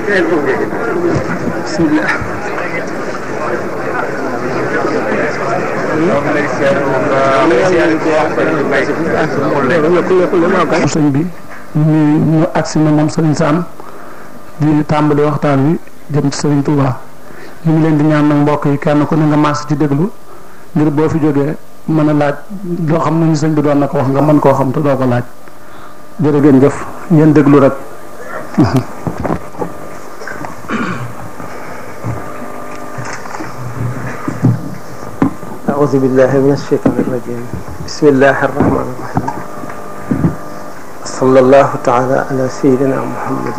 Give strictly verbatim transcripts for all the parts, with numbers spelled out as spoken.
bismillah. sëñ bi ñu ñu agsi na moom Sëriñ Sam di tàmbali waxtaan wi jëm ci Sëriñ Touba ñu ngi leen di ñaan nag mbokk yi kenn ku ne nga maas ci déglu ngir boo fi jógee mën a laaj loo xam ne ñu sëñ bi doon na ko wax nga mën koo xam te doo ko laaj jërë ngeen jëf ngeen déglu rek. أعوذ بالله من الشيطان الرجيم بسم الله الرحمن الرحيم صلى الله تعالى على سيدنا محمد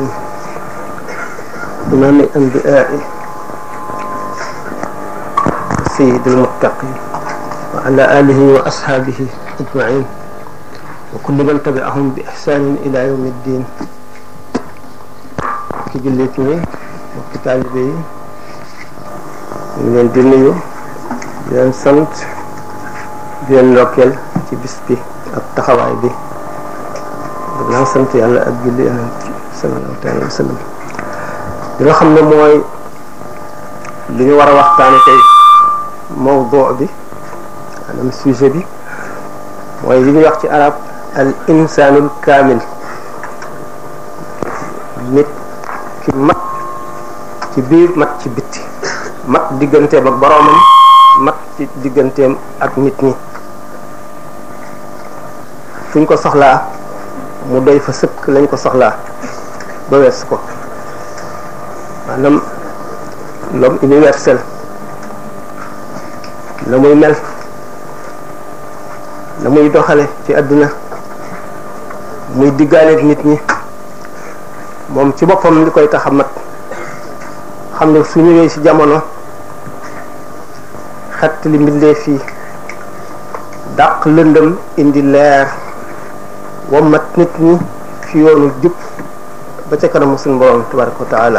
إمام الأنبياء سيد المتقين وعلى آله وأصحابه أجمعين وكل من تبعهم بإحسان إلى يوم الدين ki jullit ñi mbokki taalibe yi ñu leen di nuyu di leen sant di leen ndokkeel ci bis bi ak taxawaay bi dinaa sant yàlla ak julli yonent sallallahu alayhi wa sallam li nga xam ne mooy li ñu war a waxtaane tey mawdu bi maanaam sujet bi mooy li ñuy wax ci arab al insanul kaamil nit ki mat ci biir mat ci bitti mat digganteem ak boroomam mat ci digganteem ak nit ñi fuñ ko soxlaa mu doy fa sëkk lañ ko soxlaa ba wees ko maanaam l'homme universel la muy mel la muy doxale ci àdduna muy diggaaleeg nit ñi moom ci boppam li koy tax a mat xam ne su ñëwee ci jamono xett li mbindee fii dàq lëndëm indi leer wammat nit ñi fi yoonu jub ba ca kanamu suñu borom tabaraka wa taala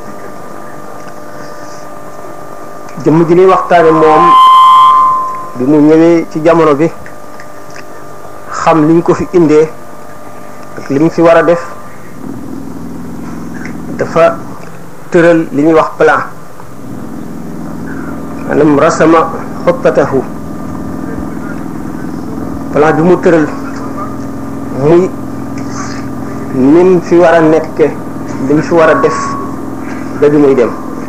jëmm ji ñuy waxtaane moom bi mu ñëwee ci jamono bi xam liñ ko fi indee ak li mu fi war a def dafa tëral li ñuy wax plan maanaam rasama xottatahu plan bi mu tëral muy nim fi war a nekke li mu fi war a def ba bi muy dem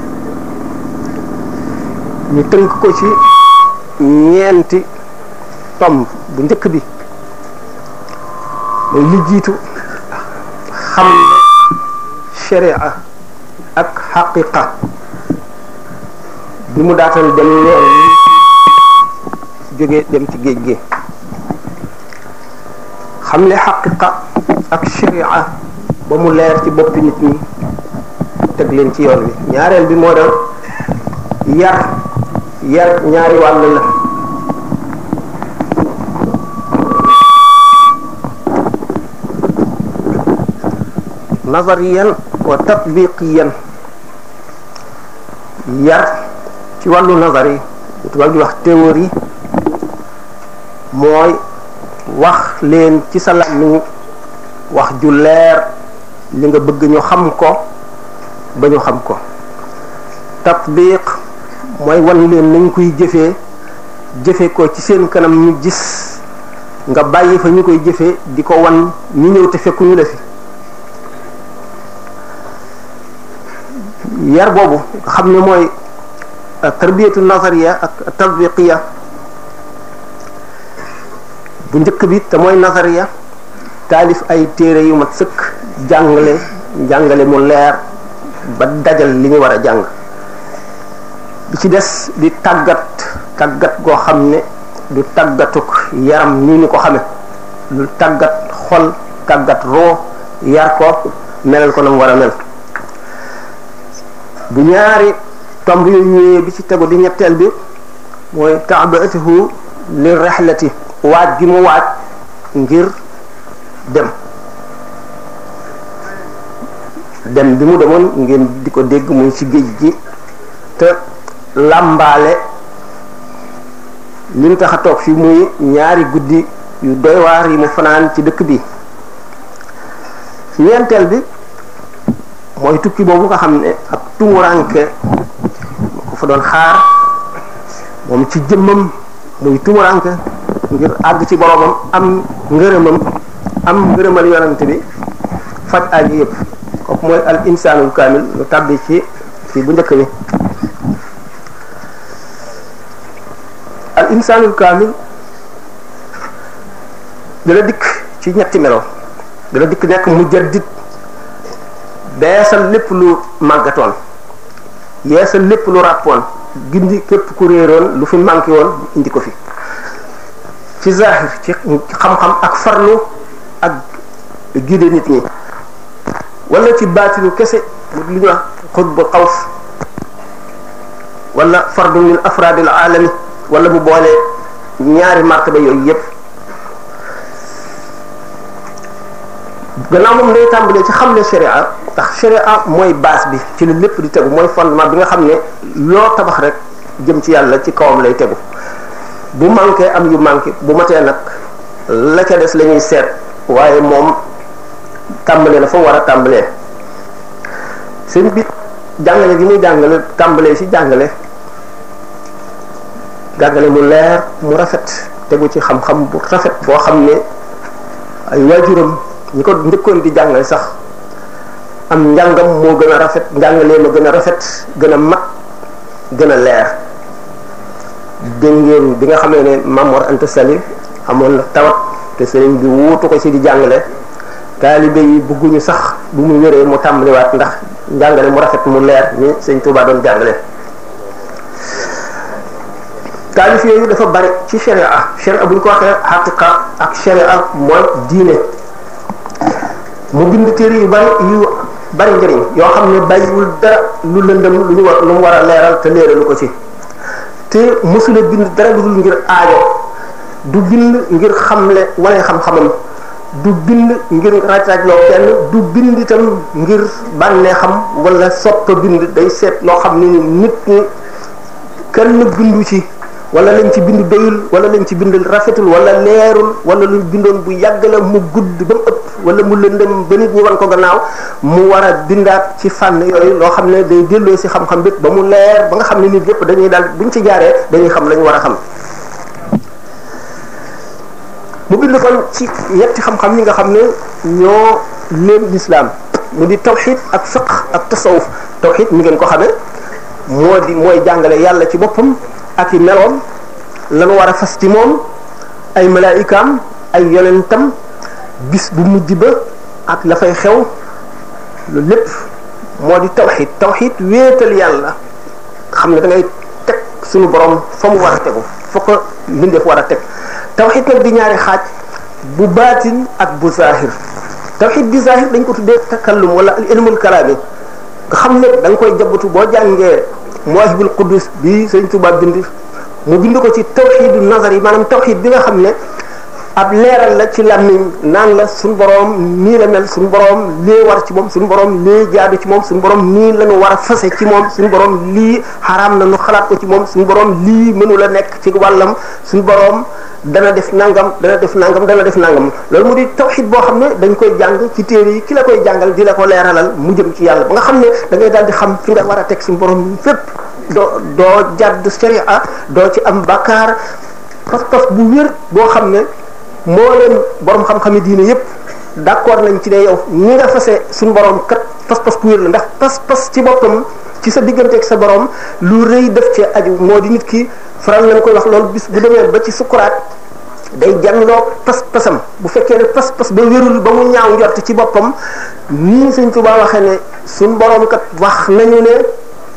ñu tënk ko ci ñeenti tomb bu njëkk bi mooy li jiitu xam ne sharia ak xaqiqa bi mu daatal dem yoon jóge dem ci géej gi xam ne xaqiqa ak sharia ba mu leer ci boppi nit ñi teg leen ci yoon wi ñaareel bi moo doon yar yar ñaari wàll la nazariyan wa tatbiqiyan yar ci wàllu nazar yi tubaab di wax théorie mooy wax leen ci sa làmmiñ wax ju leer li nga bëgg ñu xam ko ba ñu xam ko tatbiq mooy wan leen nañ koy jëfee jëfe ko ci seen kanam ñu gis nga bàyyi fa ñu koy jëfee di ko wan ñu ñëw te fekkuñu la fi yar boobu nga xam ne mooy tarbiyatu nazariya ak tatbiqiya bu njëkk bi te mooy nazariya taalif ay téere yu mat sëkk jàngale jàngale mu leer ba dajal li ñu war a jàng bi ci des di tàggat tàggat goo xam ne du tàggatuk yaram ni ñu ko xame lu tàggat xol tàggat roo yar ko melal ko na mu war a mel bu ñaari tomb yu ñëwee bi ci tegu di ñetteel bi mooy ta'batuhu li rihlati waaj gi mu waaj ngir dem dem bi mu demoon ngeen di ko dégg muy ci géej gi te làmbaale li mu tax a toog fi muy ñaari guddi yu doy waar yi mu fanaan ci dëkk bi ñeenteel bi mooy tukki boobu nga xam ne ak tumuranke ko fa doon xaar moom ci jëmmam muy tumuranke ngir àgg ci boromam am ngërëmam am ngërëmal yonante bi faj aaji yëpp kooku mooy al insaanul kaamil lu tàbbi ci ci bu njëkk bi al insaanul kaamil dana dikk ci ñetti melo dana dikk nekk mujaddid beesal lépp lu màggatoon yeesal lépp lu ràppoon gindi képp ku réeroon lu fi manqué woon indi ko fi ci zahir ci xam-xam ak farlu ak guide nit ñi wala ci baatinu kese lu ñuy wax xutbu xaws wala fardu min afraadil alami wala bu boole ñaari martaba yooyu yépp gannaaw moom day tàmbalee ci xamle sharia ndax sharia mooy base bi ci la lépp di tegu mooy fondement bi nga xam ne loo tabax rek jëm ci yàlla ci kawam lay tegu bu manqué am yu manqué bu matee nag la ca des la ñuy seet waaye moom tàmbalee na fa war a tàmbalee seen bit jàngale gi muy jàngale tàmbalee ci jàngale jàngale mu leer mu rafet tegu ci xam-xam bu rafet boo xam ne ay waajuram ñi ko njëkkoon di jàngale sax am njàngam moo gën a rafet njàngalee ma gën a rafet gën a mat gën a leer dégg ngeen bi nga xamee ne Mamor Anta Sali amoon na tawat te sëriñ bi wuutu ko ci di jàngale taalibe yi bëgguñu sax bu mu wéree mu tàmbaliwaat ndax njàngale mu rafet mu leer ni sëñ Tuubaa doon jàngale taalif yooyu dafa bari ci sharia sharia bu ñu ko waxee haqiqa ak sharia mooy diine mu bind téere yu bari yu bari njëriñ yoo xam ne bàyyiwul dara lu lëndëm lu ñu war lu mu war a leeral te leeralu ko ci te mësula bind dara lu dul ngir aajo du bind ngir xamle wane xam-xamam du bind ngir raj-rajloo kenn du bind itam ngir bànnee xam wala soppa bind day seet loo xam ne nit ñi kenn bindu ci wala lañ ci bind doyul wala lañ ci bind rafetul wala leerul wala lu bindoon bu yàgg la mu gudd ba mu ëpp wala mu lëndëm ba nit ñi wan ko gannaaw mu war a bindaat ci fànn yooyu loo xam ne day delloo si xam-xam bépp ba mu leer ba nga xam ne nit yëpp dañuy daal buñ ci jaaree dañuy xam la ñu war a xam mu bind kon ci ñetti xam-xam yi nga xam ne ñoo leen lislaam mu di tawxid ak fiqh ak tasawuf tawxid mi ngeen ko xamee moo di mooy jàngale yàlla ci boppam ak i meloom lanu war a fas ci moom ay malaayikaam ay yonentam bis bu mujj ba ak la fay xew loolu lépp moo di tawxid tawxid wéetal yàlla xam ne da ngay teg suñu borom fa mu war a tegu fa ko mbindeef war a teg tawxid nag di ñaari xaaj bu baatin ak bu zahir tawxid bi zahir dañ ko tuddee takallum wala al ilmul kalaami nga xam ne da nga koy jabatu boo jàngee Mawahibul Quddus bi Sëriñ Tuubaa bind mu bind ko ci tawxidu nazar yi maanaam tawxid bi nga xam ne ab leeral la ci làmmiñ naan la suñu borom nii la mel suñu borom lii war ci moom suñu borom lii jaadu ci moom suñu borom nii la ñu war a fase ci moom suñu borom lii xaraam na ñu xalaat ko ci moom suñu borom lii mënu la nekk ci wàllam suñu borom dana def nangam dana def nangam dana def nangam loolu mu di tawxid boo xam ne dañ koy jàng ci téere yi ki la koy jàngal di la ko leeralal mu jëm ci yàlla ba nga xam ne da ngay daal di xam fi nga war a teg suñu borom fépp doo doo jàdd sharia doo ci am bakkaar pas-pas bu wér boo xam ne moo leen borom xam-xami diine yépp d'accord nañ ci ne yow ñi nga fase suñu borom kat pas-pas bu wér la ndax pas-pas ci boppam ci sa digganteeg sa borom lu rëy def ci aju moo di nit ki faral nañ koy wax loolu bis bu demee ba ci sukuraat day janloo pas-pasam bu fekkee ne pas-pas ba wérul ba mu ñaaw njort ci boppam nii Sëñ Tuubaa waxee ne suñu borom kat wax nañu ne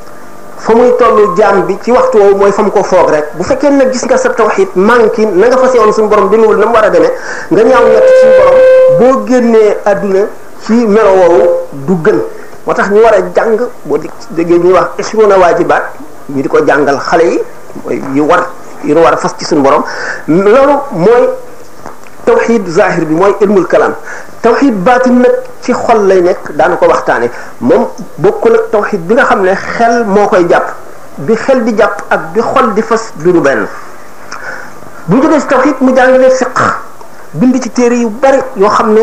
fa muy tollu jaam bi ci waxtu woowu mooy fa mu ko foog rek bu fekkee nag gis nga sa tawhid manqué na nga fas yoon suñu borom demewul na mu war a demee nga ñaaw ñett suñu borom boo génnee àdduna ci melo woowu du gën moo tax ñu war a jàng boo di déggee ñuy wax ishruna waajibaat ñu di ko jàngal xale yi mooy yu war yu war a fas ci suñu borom loolu mooy tawhid zahir bi mooy ilmul kalam tawhid baatin nag ci xol lay nekk daana ko waxtaane moom bokkul ak tawhid bi nga xam ne xel moo koy jàpp bi xel di jàpp ak bi xol di fas du ñu benn bu ñu jógee ci tawhid mu jàngale fiqh bind ci téere yu bari yoo xam ne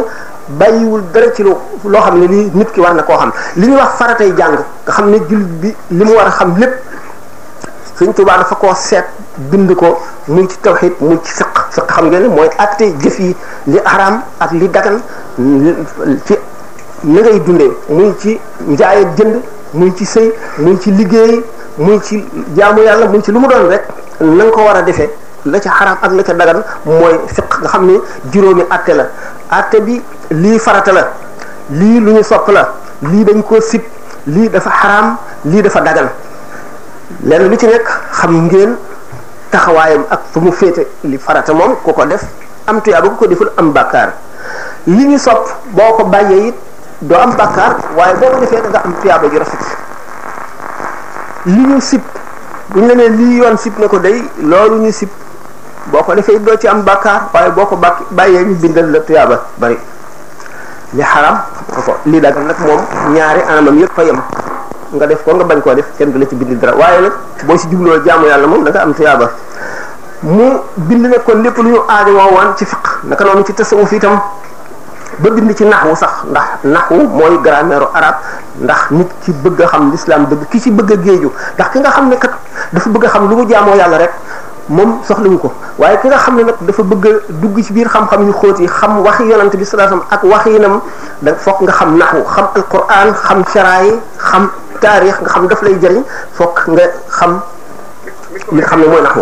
bàyyiwul dara ci loo loo xam ne lii nit ki war na koo xam li ñuy wax faratay jàng nga xam ne jullit bi li mu war a xam lépp Sëriñ Tuubaa dafa koo seet bind ko muy ci tawhid muy ci fiq fiq xam ngeen ne mooy àtte jëf yi li araam ak li dagan ci na ngay dundee muy ci njaay ak jënd muy ci sëy muy ci liggéey muy ci jaamu yàlla muy ci lu mu doon rek na nga ko war a defee la ca xaraam ak la ca dagan mooy fiq nga xam ne juróomi àtte la àtte bi lii farata la lii lu ñu sopp la lii dañ koo sib lii dafa xaraam lii dafa dagan lenn lu ci nekk xam ngeen taxawaayam ak fu mu féete li farata moom ku ko def am tuyaaba ku ko deful am bàkkaar li ñu sopp boo ko bàyyee it doo am bàkkaar waaye boo ko defee da nga am tuyaaba ju rafet li ñu sib bu ñu la nee lii yoon sib na ko day loolu ñu sib boo ko defee doo ci am bàkkaar waaye boo ko bàkk bàyyee ñu bindal la tuyaaba bari li xaram ko li dagan nag moom ñaari anamam yëpp fa yem nga def ko nga bañ koo def kenn du la ci bind dara waaye nag boo si jubloo jaamu yàlla moom da nga am tuyaaba mu bind nag kon lépp lu ñu aajo woon ci fiq naka noonu ci tasawuf itam ba bind ci naxwu sax ndax naxwu mooy grammaire arabe ndax nit ki bëgg a xam l'islam dëgg ki ci bëgg a géeju ndax ki nga xam ne kat dafa bëgg a xam lu mu jaamoo yàlla rek moom soxlawu ko waaye ki nga xam ne nag dafa bëgg a dugg ci biir xam-xam yu xóot yi xam waxi yonent bi sallallahu alayhi wasallam ak waxinam da fokk nga xam naxwu xam alquran xam sharaa yi xam taarix nga xam daf lay jëriñ fokk nga xam li nga xam ne mooy naxwu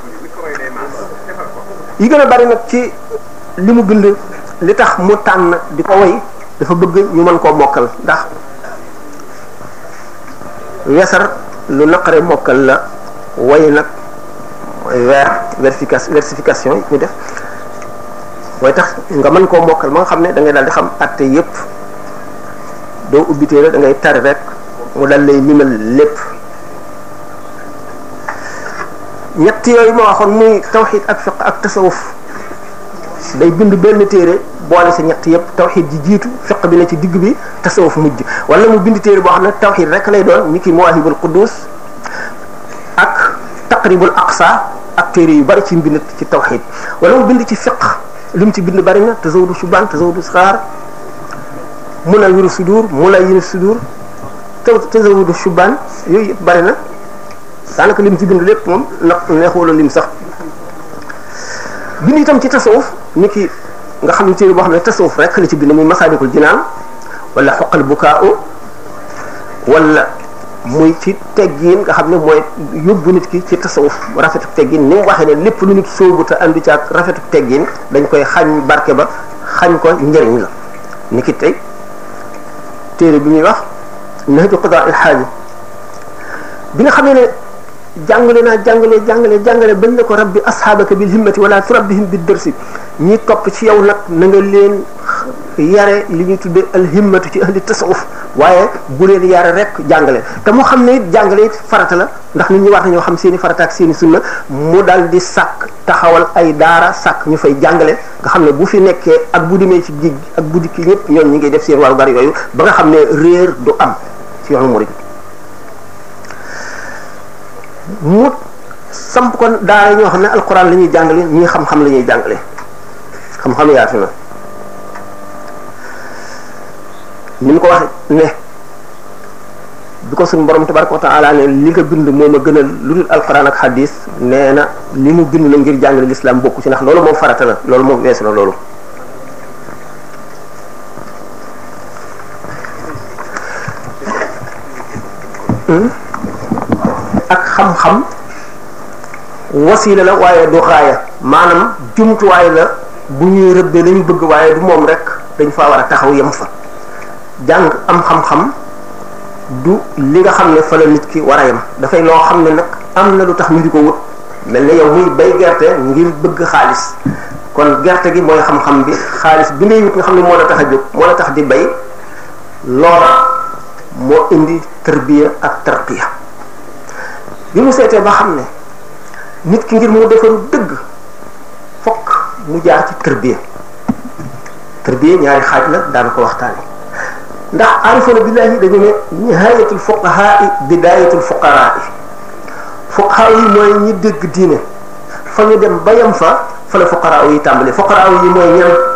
yi gën a bari nag ci li mu bind li tax mu tànn di ko way dafa bëgg ñu mën koo mokkal ndax wesar lu naqare mokkal la way nag mooy weer versification versification yi ñu def mooy tax nga mën koo mokkal ma nga xam ne da ngay daal di xam atte yépp doo ubbi téere da ngay tari rek mu dal lay limal lépp ñett yooyu ma waxoon muy tawxid ak fiq ak tasawuf day bind benn téere boole sa ñett yëpp tawxid ji jiitu fiq bi ne ci digg bi tasawuf mujj wala mu bind téere boo xam ne tawxid rek lay doon ni ki mawahibul quddus ak taqribul aqsa ak téere yu bari ci mbind ci tawxid wala mu bind ci fiq li mu ci bind bari na tazawudu shubaan tazawudu sixaar munawwiru sudur munawwiru sudur tazawudu shubaan yooyu yëpp bari na daanaka lim ci bind lépp moom nag neexula lim sax bind itam ci tasawuf ni ki nga xam ne téere boo xam ne tasawuf rek la ci bind muy masaalikul jinaan wala xoqal bukaau wala muy ci teggin nga xam ne mooy yóbbu nit ki ci tasawuf rafetu teggin ni mu waxee ne lépp lu nit sóobu te andi ci ak rafetu teggin dañ koy xañ barke ba xañ ko njëriñ la ni ki tey téere bi muy wax nahju qadaa il xaaji bi nga xam ne jàngale naa jàngale jàngale jàngale bañ ne ko rabbi asxaabaka bil himmati wala turabbihim bid dërsi ñi topp ci yow nag na nga leen yare li ñuy tudde al himmatu ci ahli tasawuf waaye bu leen yare rek jàngale te mu xam ne it jàngale it farata la ndax nit ñi war nañoo xam seeni farata ak seeni sunna mu dal di sàkk taxawal ay daara sàkk ñu fay jàngale nga xam ne bu fi nekkee ak bu demee ci géej ak bu dikki ñëpp ñoom ñi ngi def seen waru bari yooyu ba nga xam ne réer du am ci yoonu murid mu samp kon daara ñoo xam ne alquran la ñuy jàngale ñii xam-xam la ñuy jàngale xam-xam yaatu na ni mu ko waxe ne bi ko suñu borom tabaraka wa taala ne li nga bind moo ma gënal lu dul alquran ak hadis nee na li mu bind la ngir jàngale l'islam bokku ci ndax loolu moom farata la loolu moom weesu na loolu ak xam-xam wasiila la waaye du xaaya maanaam jumtuwaay la bu ñuy rëbbee lañu bëgg waaye du moom rek dañ faa war a taxaw yem fa jàng am xam-xam du li nga xam ne fa la nit ki war a yem dafay loo xam ne nag am na lu tax ñu di ko wut mel ne yow muy bay gerte ngir bëgg xaalis kon gerte gi mooy xam-xam bi xaalis bi ngay wut nga xam ne moo la tax a jóg moo la tax di bay loola moo indi tarbiya ak tarqiya bi mu seetee ba xam ne nit ki ngir mu defaru dëgg fokk mu jaar ci tarbiya tarbiya ñaari xaaj la daana ko waxtaane ndax arifuna billahi dañu ne nihayatul fuqahaa bidayatul fuqaraa fuqahaa yi mooy ñi dégg diine fa ñu dem ba yem fa fa la fuqaraa yi tàmbali fuqaraa yi mooy ñan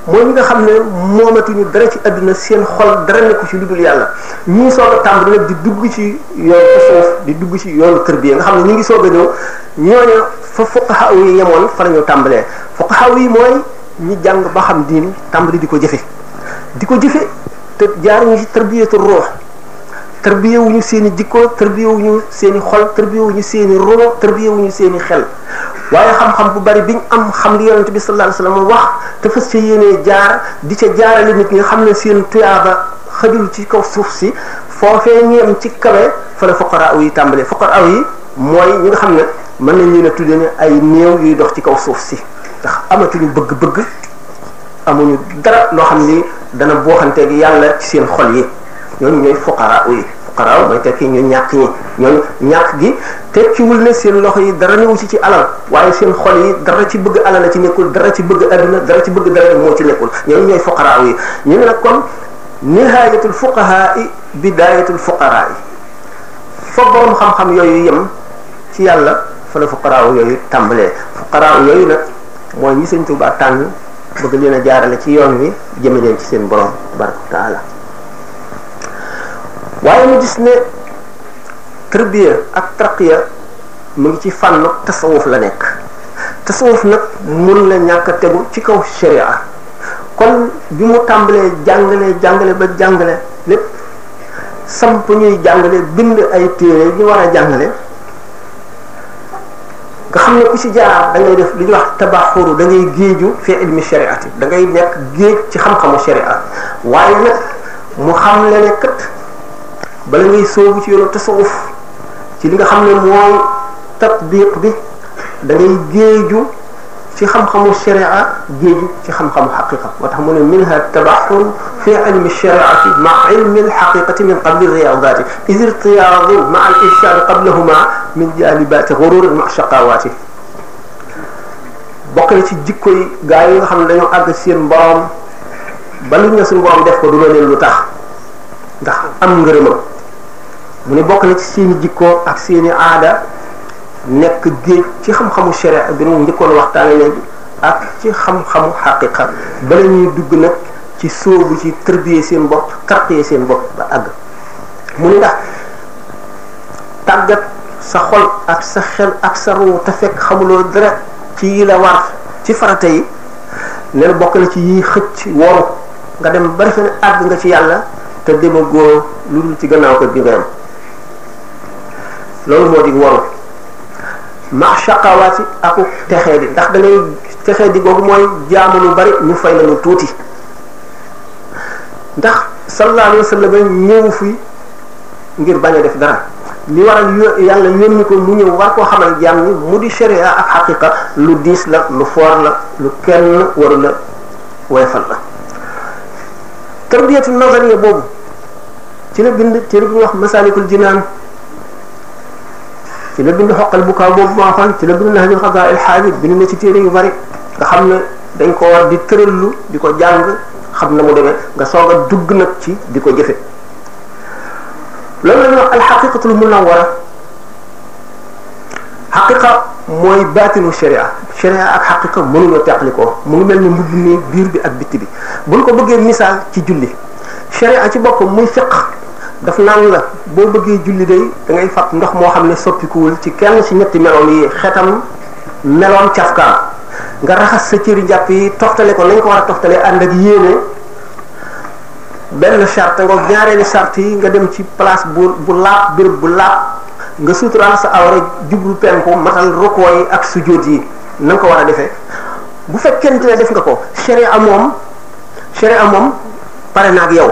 mooy ñi nga xam ne moomatuñu dara ci àdduna seen xol dara nekku ci lu dul yàlla ñii soog a tàmbali nag di dugg ci yoonu tasawuf di dugg ci yoonu tërbiya nga xam ne ñu ngi soog a ñëw ñooñu fa fuqaha yi yemoon fa la ñu tàmbalee fuqaha yi mooy ñi jàng ba xam diin tàmbali di ko jëfe di ko jëfe te jaaruñu ci tarbiyatu ruux tarbiya wuñu seen i jikko tarbiya wuñu seen i xol tarbiya wuñu seen i ruux tarbiya wuñu seen i xel waaye xam-xam bu bari biñ am xam li yonente bi sallallahu alayhi wasallam wax te fas ca yéenee jaar di ca jaarale nit ñi nga xam ne seen tuyaaba xajul ci kaw suuf si foofee ñeem ci kawe fa la fuqara yi tàmbalee fuqara yi mooy ñi nga xam ne mën nañ leen a tudde ne ay néew yuy dox ci kaw suuf si ndax amatuñu bëgg-bëgg amuñu dara loo xam ni dana booxanteeg yàlla ci seen xol yi ñooñu ñooy fuqara yi fuqara mooy tekki ñu ñàkk ñi ñooñu ñàkk gi tekkiwul ne seen loxo yi dara newu ci ci alal waaye seen xol yi dara ci bëgg alal la ci nekkul dara ci bëgg adduna dara ci bëgg dara moo ci nekkul ñooñu ñooy fuqara yi ñu ne nag kon nihayatul fuqaha yi bidayatul fuqara yi fa borom xam-xam yooyu yem ci yàlla fa la fuqara yooyu tàmbalee fuqara yooyu nag mooy ñi Sëñ Tuubaa tànn bëgg leen a jaarale ci yoon wi jëme leen ci seen borom tabaraka wa taala waaye ñu gis ne tarbiya ak tarqiya mu ngi ci fànn tasawuf la nekk tasawuf nag mun la ñàkk a tegu ci kaw sharia kon bi mu tàmbalee jàngale jàngale ba jàngale lépp samp ñuy jàngale bind ay téere ñu war a jàngale nga xam ne ku ci jaar da ngay def li ñuy wax tabaxuru da ngay géeju fi ilmi shariati da ngay nekk géej ci xam-xamu sharia waaye nag mu xam le ne kat bala ngay soobu ci yoonu tasawuf ci li nga xam ne mooy tatbiq bi da ngay géeju ci xam-xamu sharia géeju ci xam-xamu xaqiqa moo tax mu ne minha tabaxur fi ilmi shariati ma ilmi alxaqiqati min qabli riyadati is irtiyadu ma al irshad qablahuma min jalibati ghururin ma shaqawati bokk na ci jikko yi gaa yi nga xam ne dañoo àgg seen borom ba lu ñu suñu borom def ko du la leen lu tax ndax am ngërëmam mu ne bokk na ci seeni jikko ak seeni aada nekk géej ci xam-xamu sharia bi mu njëkkoon waxtaane léegi ak ci xam-xamu xaqiqa bala ñuy dugg nag ci sóobu ci tërbiyee seen bopp tarqiyee seen bopp ba àgg mu ne ndax tàggat sa xol ak sa xel ak sa ruu te fekk xamuloo dara ci yi la war ci farata yi ne bokk na ci yi xëcc woru nga dem ba defe ne àgg nga ci yàlla te demagoo lu dul ci gannaaw kër gi nga am loolu moo di woru ma shaqawaati aku texee di ndax da ngay texee di googu mooy jaamu lu bari ñu fay la lu tuuti ndax sallallahu alayhi wa sallam ñëw fi ngir bañ a def dara li waral yàlla yónni ko mu ñëw war koo xamal jaam ñi mu di sharia ak xaqiqa lu diis la lu foor la lu kenn waru la woyfal la tarbiyatu nazariya boobu ci la bind téere bu ñuy wax masalikul jinaan ci la bind xoqal bu kaaw boobu maa xoon ci la bind nahjul qadaa il xaajib bind na ci téere yu bari nga xam ne dañ ko war di tërallu di ko jàng xam na mu demee nga soog a dugg nag ci di ko jëfe loolu la ñuy wax alxaqiqatul munawwara xaqiqa mooy baatinu sharia sharia ak xaqiqa mënuñoo teqlikoo mu ngi mel ni mbubb mi biir bi ak bitti bi buñ ko bëggee misaal ci julli sharia ci boppam muy fiq daf naan la boo bëggee julli day da ngay fab ndox moo xam ne soppikuwul ci kenn ci ñetti meloom yi xetam meloom cafkaam nga raxas sa cëri njàpp yi toftale ko nañ ko war a toftale ànd ak yéene benn charte nga ñaareeli charte yi nga dem ci place bu bu laab béréb bu laab nga suturaal sa awra jublu penku matal rukoo yi ak sujjóot yi na nga ko war a defee bu fekkente ne def nga ko sharia moom sharia moom pare na ak yow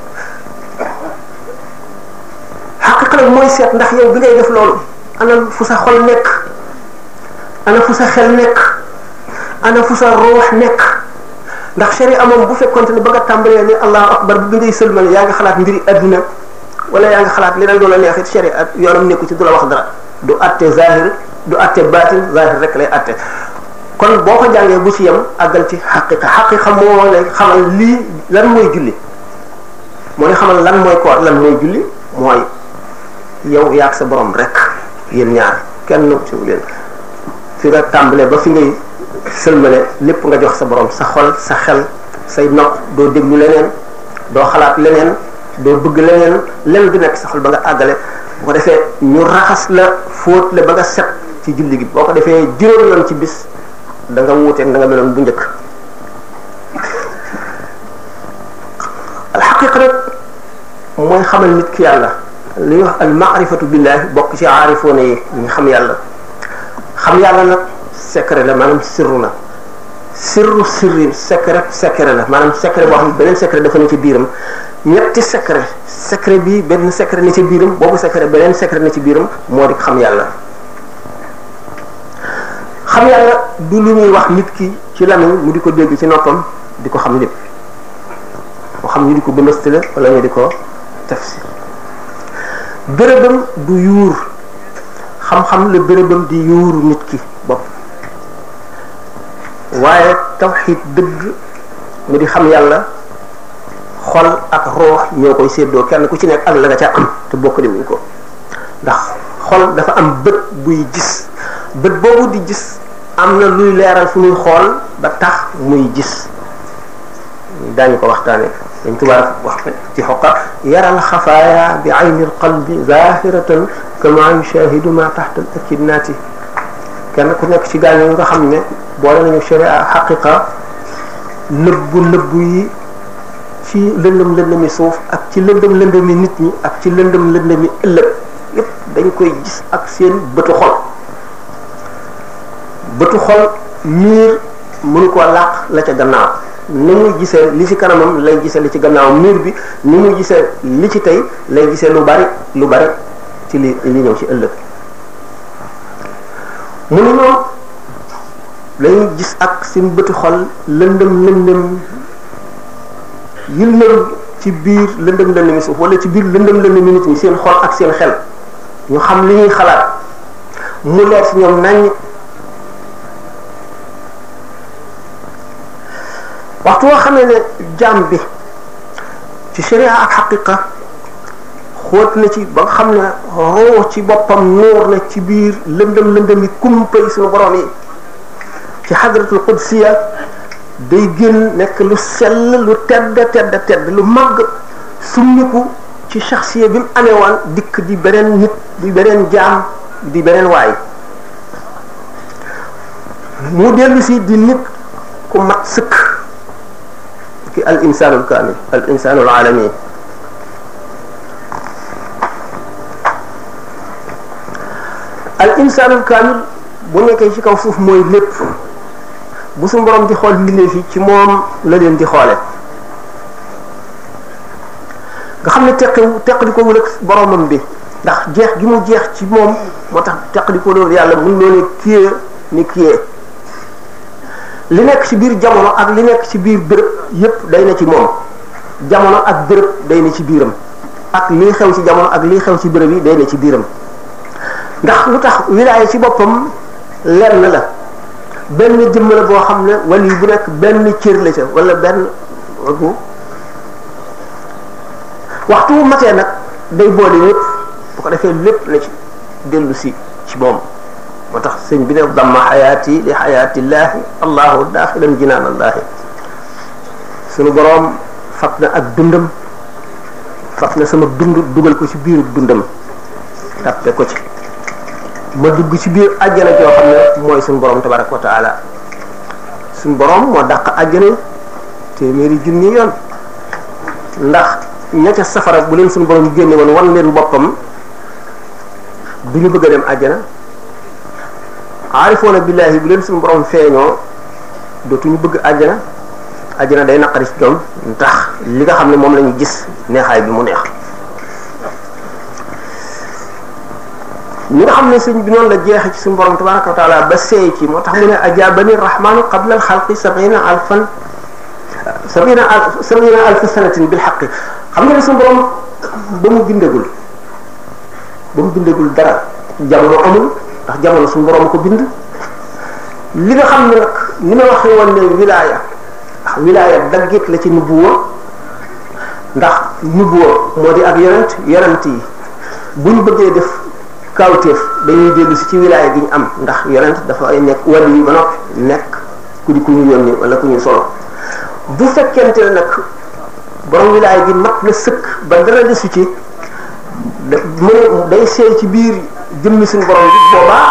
xaqiqa nag mooy seet ndax yow bi ngay def loolu ana fu sa xol nekk ana fu sa xel nekk ana fu sa ruux nekk ndax sharia moom bu fekkonte ne ba nga tàmbalee ni allahu akbar bi ngay sëlmal yaa ngi xalaat mbiri adduna wala yaa ngi xalaat leneen lu la neexit sharia yoonam nekku ci du la wax dara du atte zahir du atte batin zahir rek lay atte kon boo ko jàngee bu ci yem àggal ci xaqiqa xaqiqa moo lay xamal lii lan mooy julli moo lay xamal lan mooy koor lan mooy julli mooy yow yaag sa borom rek yéen ñaar kenn ci leen fi nga tàmbalee ba fi ngay sëlmale lépp nga jox sa borom sa xol sa xel say nopp doo déglu leneen doo xalaat leneen doo bëgg leneen lenn du nekk sa xol ba nga àggale bu ko defee ñu raxas la fóot la ba nga set ci julli gi boo ko defee juróom yoon ci bis da nga wuuteeg da nga meloon bu njëkk. alxaqiqa rek mooy xamal nit ki yàlla li ñuy wax al maarifatu billahi bokk ci aarifoone yi ñu xam yàlla xam yàlla nag secret la maanaam sirru la sirru sirri secret secret la maanaam secret boo xam ne beneen secret dafa ne ci biiram ñetti secret secret bi benn secret ne ci biiram boobu secret beneen secret ne ci biiram moo di xam yàlla. xam yàlla du lu ñuy wax nit ki ci lamiñ mu di ko dégg ci noppam di ko xam lépp moo xam ñu di ko bëmbëstale wala ñu di ko tafsir bérébam du yuur xam-xam la bérébam di yuuru nit ki bopp waaye tawxiid dëgg mu di xam yàlla xol ak roox ñoo koy séddoo kenn ku ci nekk ak la nga ca am te bokk di wuñ ko ndax xol dafa am bët buy gis bët boobu di gis am na luy leeral fu muy xool ba tax muy gis daañu ko waxtaane dañ tubaab wax ci xoqa yaral xafaaya bi ayni alqalbi zahiratan kama yushahidu ma taxta al akidnaati kenn ku nekk ci gaañu nga xam ne boole nañu sharia xaqiqa nëbbu nëbbu yi ci lëndëm lëndëmi suuf ak ci lëndëm lëndëmi nit ñi ak ci lëndëm lëndëmi ëllëg yépp dañ koy gis ak seen bëtu xol bëtu xol miir mënu ko làq la ca gannaaw ni muy gisee li ci kanamam lay gisee li ci gannaaw miir bi ni muy gisee li ci tey lay gisee lu bari lu bari ci li li ñëw ci ëllëg mu ne ñoom lañuy gis ak seen bëti xol lëndëm lëndëm yi lëndëm ci biir lëndëm lëndëmi suuf wala ci biir lëndëm lëndëmi nit ñi seen xol ak seen xel ñu xam li ñuy xalaat mu leer ci ñoom nañ waxtu woo xamee ne jaam bi ci sharia ak xaqiqa xóot na ci ba nga xam ne roo ci boppam nuur na ci biir lëndëm lëndëm yi kumpa yi suñu borom yi ci xadratul qudsiya day génn nekk lu sell lu tedd tedd tedd lu màgg summiku ci shaxsiya bi mu amee woon dikk di beneen nit di beneen jaam di beneen waay mu dellu si di nit ku mat sëkk ki al insaanul kaamil al insaanul aalami al insaanul kaamil bu nekkee ci kaw suuf mooy lépp bu suñu borom di xool mbindeef yi ci moom la leen di xoole nga xam ne teqiw teqli ko wul ak boromam bi ndax jeex gi mu jeex ci moom moo tax teqli ko loolu yàlla mun loo ne kiyee ni kiyee li nekk ci biir jamono ak li nekk ci biir béréb yépp day na ci moom jamono ak béréb day na ci biiram ak lii xew ci jamono ak lii xew ci béréb yi day na ci biiram ndax lu tax wilaaya ci boppam lenn la benn jëmm la boo xam ne wali bu nekk benn cër la ca wala benn bu waxtu wu matee nag day boole yépp bu ko defee lépp la ci dellu si ci moom moo tax sëñ bi ne damma xayaati li xayaatillaahi allahu daaxilan jinaan allaahi sunu boroom fab na ak dundam fab na sama dund dugal ko ci biiru dundam tàppe ko ci ma dugg ci biir àjjana joo xam ne mooy suñu borom tabaraka wa taala suñu borom moo dàq àjjana téeméeri junni yoon ndax ña ca safara bu leen suñu borom génne woon wan leen boppam du ñu bëgg a dem àjjana aarifoona billaahi bu leen suñu borom feeñoo dootuñu bëgg àjjana àjjana day naqari ci ñoom ndax li nga xam ne moom la ñu gis neexaay bi mu neex ñi nga xam ne sëñ bi noonu la jeexe ci suñu borom tabaraka wa taala ba seey ci moo tax mu ne ajabani rahmanu qabla al xalqi sabina alfan sabina al sabina alfa sanatin bil xaqi xam nga ne suñu borom ba mu bindagul ba mu bindagul dara jamono amul ndax jamono suñu borom ko bind li nga xam ne nag ni ma waxee woon ne wilaaya ndax wilaaya daggit la ci nubuwa ndax nubuwa moo di ak yonent yonent yi buñ bëggee def kawteef dañuy dellu si ci wilaaya gi ñu am ndax yonent dafa ay nekk wàll yi ba noppi nekk ku di ku ñu yónni wala ku ñu solo bu fekkente ne nag borom wilaay gi mat na sëkk ba dara desu ci da mu day seey ci biir jëmmi suñu borom bi boobaa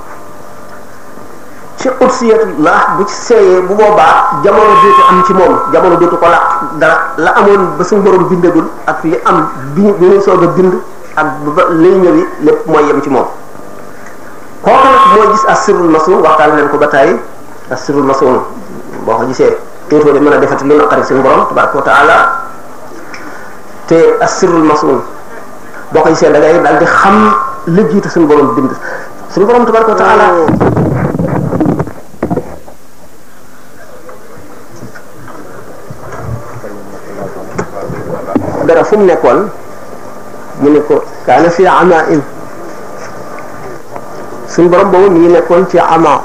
ci udsiyatullah bu ci seeyee bu boobaa jamono dootu am ci moom jamono dootu ko laq dara la amoon ba suñu borom bindagul ak li am bi bi ñuy soog a bind ak ba lay ñëwi lépp mooy yem ci moom kooku nag mooy gis as-sirrul masun waxtaan leen ko ba tàyyi as-sirrul masun boo ko gisee dootoo de mën a defati lu naqari suñu borom tabaraka wa taala te as-sirrul masun boo ko gisee da ngay daal di xam la jiitu suñu borom bind suñu borom tabaraka wa taala dara fu mu nekkoon mu ne ko kaana fi amain suñu borom boobu mi ngi nekkoon ci ama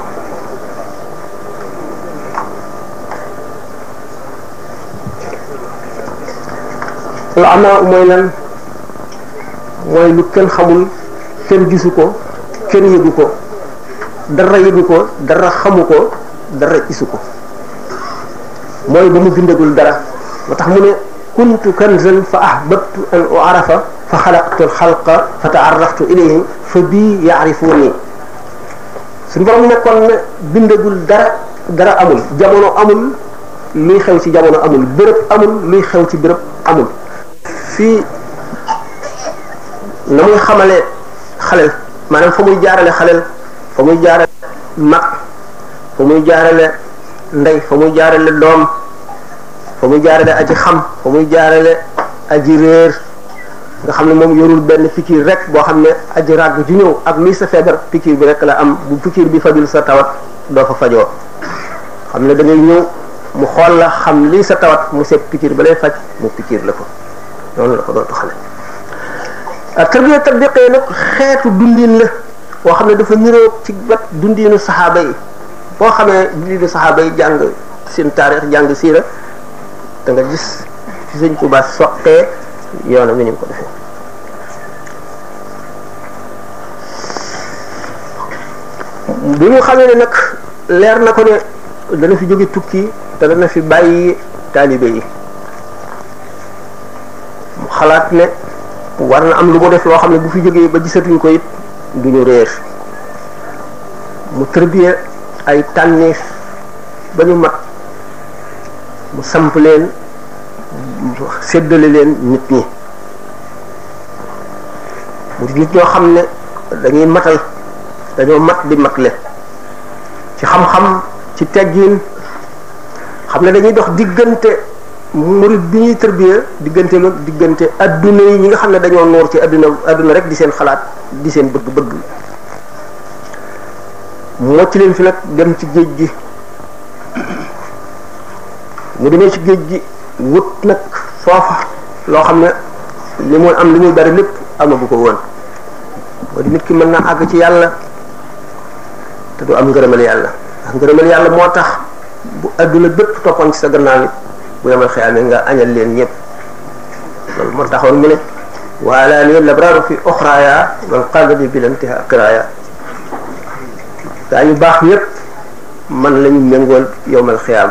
lu ama mooy lan mooy lu kenn xamul kenn gisu ko kenn yëgu ko dara yëgu ko dara xamu ko dara gisu ko mooy ba mu bindagul dara moo tax mu ne kuntu kanzan fa ahbabtu an u'arafa fa xalaqtu alxalqa fa taaraftu ilayhim fa bii yaarifuuni suñu borom nekkoon na bindagul dara dara amul jamono amul luy xew ci jamono amul béréb amul luy xew ci béréb amul fii na muy xamale xalel maanaam fa muy jaarale xalel fa muy jaarale mag fa muy jaarale ndey fa muy jaarale doom fa muy jaarale aji xam fa muy jaarale aji réer nga xam ne moom yorul benn pikiir rek boo xam ne aji ràgg ju ñëw ak luy sa feebar pikiir bi rek la am bu pikiir bi fajul sa tawat doo fa fajoo xam ne da ngay ñëw mu xool la xam lii sa tawat mu seet pikiir ba lay faj mu pikiir la ko noonu la ko doon taxale ak tarbiya tatbiqee nag xeetu dundin la boo xam ne dafa niroo ci wet dundinu saxaaba yi boo xamee dundinu saxaaba yi jàng seen taarix jàng siira da nga gis ci Sëñ Tuubaa soqee yoonam wi ni mu ko defee bi mu xamee ne nag leer na ko ne dana fi jóge tukki te dana fi bàyyi taalibe yi mu xalaat ne war na am lu mu def loo xam ne bu fi jógee ba gisatuñ ko it duñu réer mu tërbiye ay tànneef ba ñu mat mu samp leen séddale leen nit ñi mu di nit ñoo xam ne dañuy matal dañoo mat di matle ci xam-xam ci teggin xam ne dañuy dox diggante murid bi ñuy tërbiya diggante mag diggante adduna yi ñi nga xam ne dañoo noor ci adduna adduna rek di seen xalaat di seen bëgg-bëgg mu mocc leen fi nag dem ci géej gi mu demee ci géej gi wut nag foofa loo xam ne li muy am li muy bari lépp amagu ko woon moo di nit ki mën naa àgg ci yàlla te du am ngërëmal yàlla ndax ngërëmal yàlla moo tax bu adduna bépp toppoon ci sa gannaaw it bu yemal xiyaamee nga añal leen ñëpp loolu moo taxoon mu ne waala ni labraaru fi oxraaya wal qalbi bilantiha qiraaya daa ñu baax ñëpp man lañu méngool yowmal xiyaam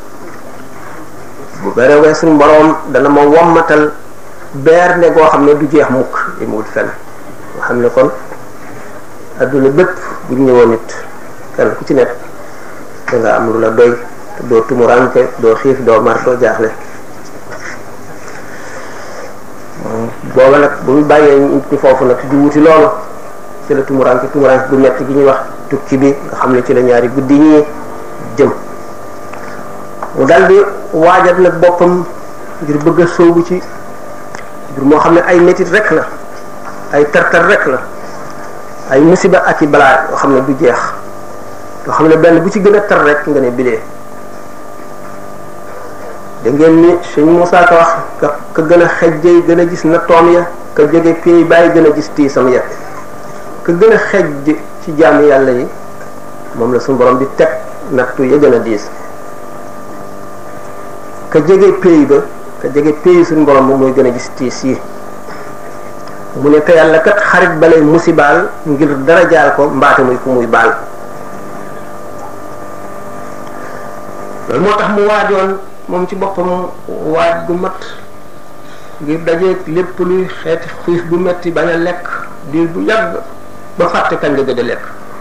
bu bereewee suñu boroom dana ma wommatal beer ne goo xam ne du jeex mukk yi mu wut fenn nga xam ne kon adduna bépp bu ñu ñëwoon nit kenn ku ci nekk da nga am lu la doy te doo tumuranke doo xiif doo mar doo jaaxle booba nag bu ñu bàyyee nit ñi foofu nag di wuti loolu ci la tumuranke tumuranke bu metti gi ñuy wax tukki bi nga xam ne ci la ñaari guddi ñi jëm mu daldi waajal nag boppam ngir bëgg a sóobu ci ngir moo xam ne ay métit rek la ay tartar rek la ay musiba ak i balaa yoo xam ne du jeex yoo xam ne benn bu ci gën a tar rek nga ne bilee da ngeen ni Sëñ Moussa Ka wax ka ka gën a xejjey gën a gis na toom ya ka jóge pay bàyyi gën a gis tiisam ya ka gën a xejj ci jaamu yàlla yi moom la suñu borom di teg nattu ya gën a diis ka jege pay ba ka jege pay suñu borom moom mooy gën a gis tiis yi mu ne te yàlla kat xarit balay musibaal ngir dara jaal ko mbaate muy ku muy baal loolu moo tax mu waajoon moom ci boppam waaj gu mat ngir dajeeg lépp luy xeeti xiif bu metti bañ a lekk diir bu yàgg ba fàtte kañ nga gëj a lekk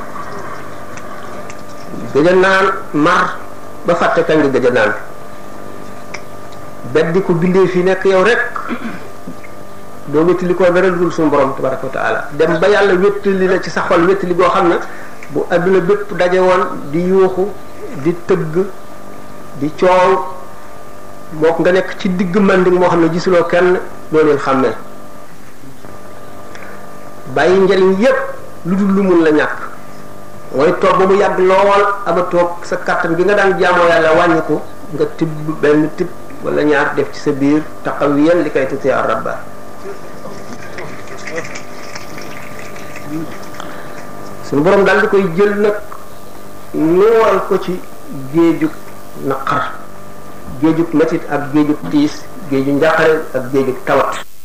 gëj a naan mar ba fàtte kañ nga gëj a naan beddi ko bindee fi nekk yow rek doo wéttali ko dara dul suñu borom tabaraka wa taala dem ba yàlla wéttali la ci sa xol wéttali goo xam ne bu adduna bépp daje woon di yuuxu di tëgg di coow mook nga nekk ci digg manding moo xam ne gisuloo kenn doo leen xàmmee bàyyi njariñ yépp lu dul lu mun la ñàkk mooy toog ba mu yàgg lool aba toog sa kàttan gi nga daan jaamoo yàlla wàññi ko nga tibb benn tibb wala ñaar def ci sa biir taxawiyan li kay tuti rabba suñu borom daal di koy jël nag nuural ko ci géejug naqar géejug metit ak géejug tiis géeju njàqare ak géejug tawat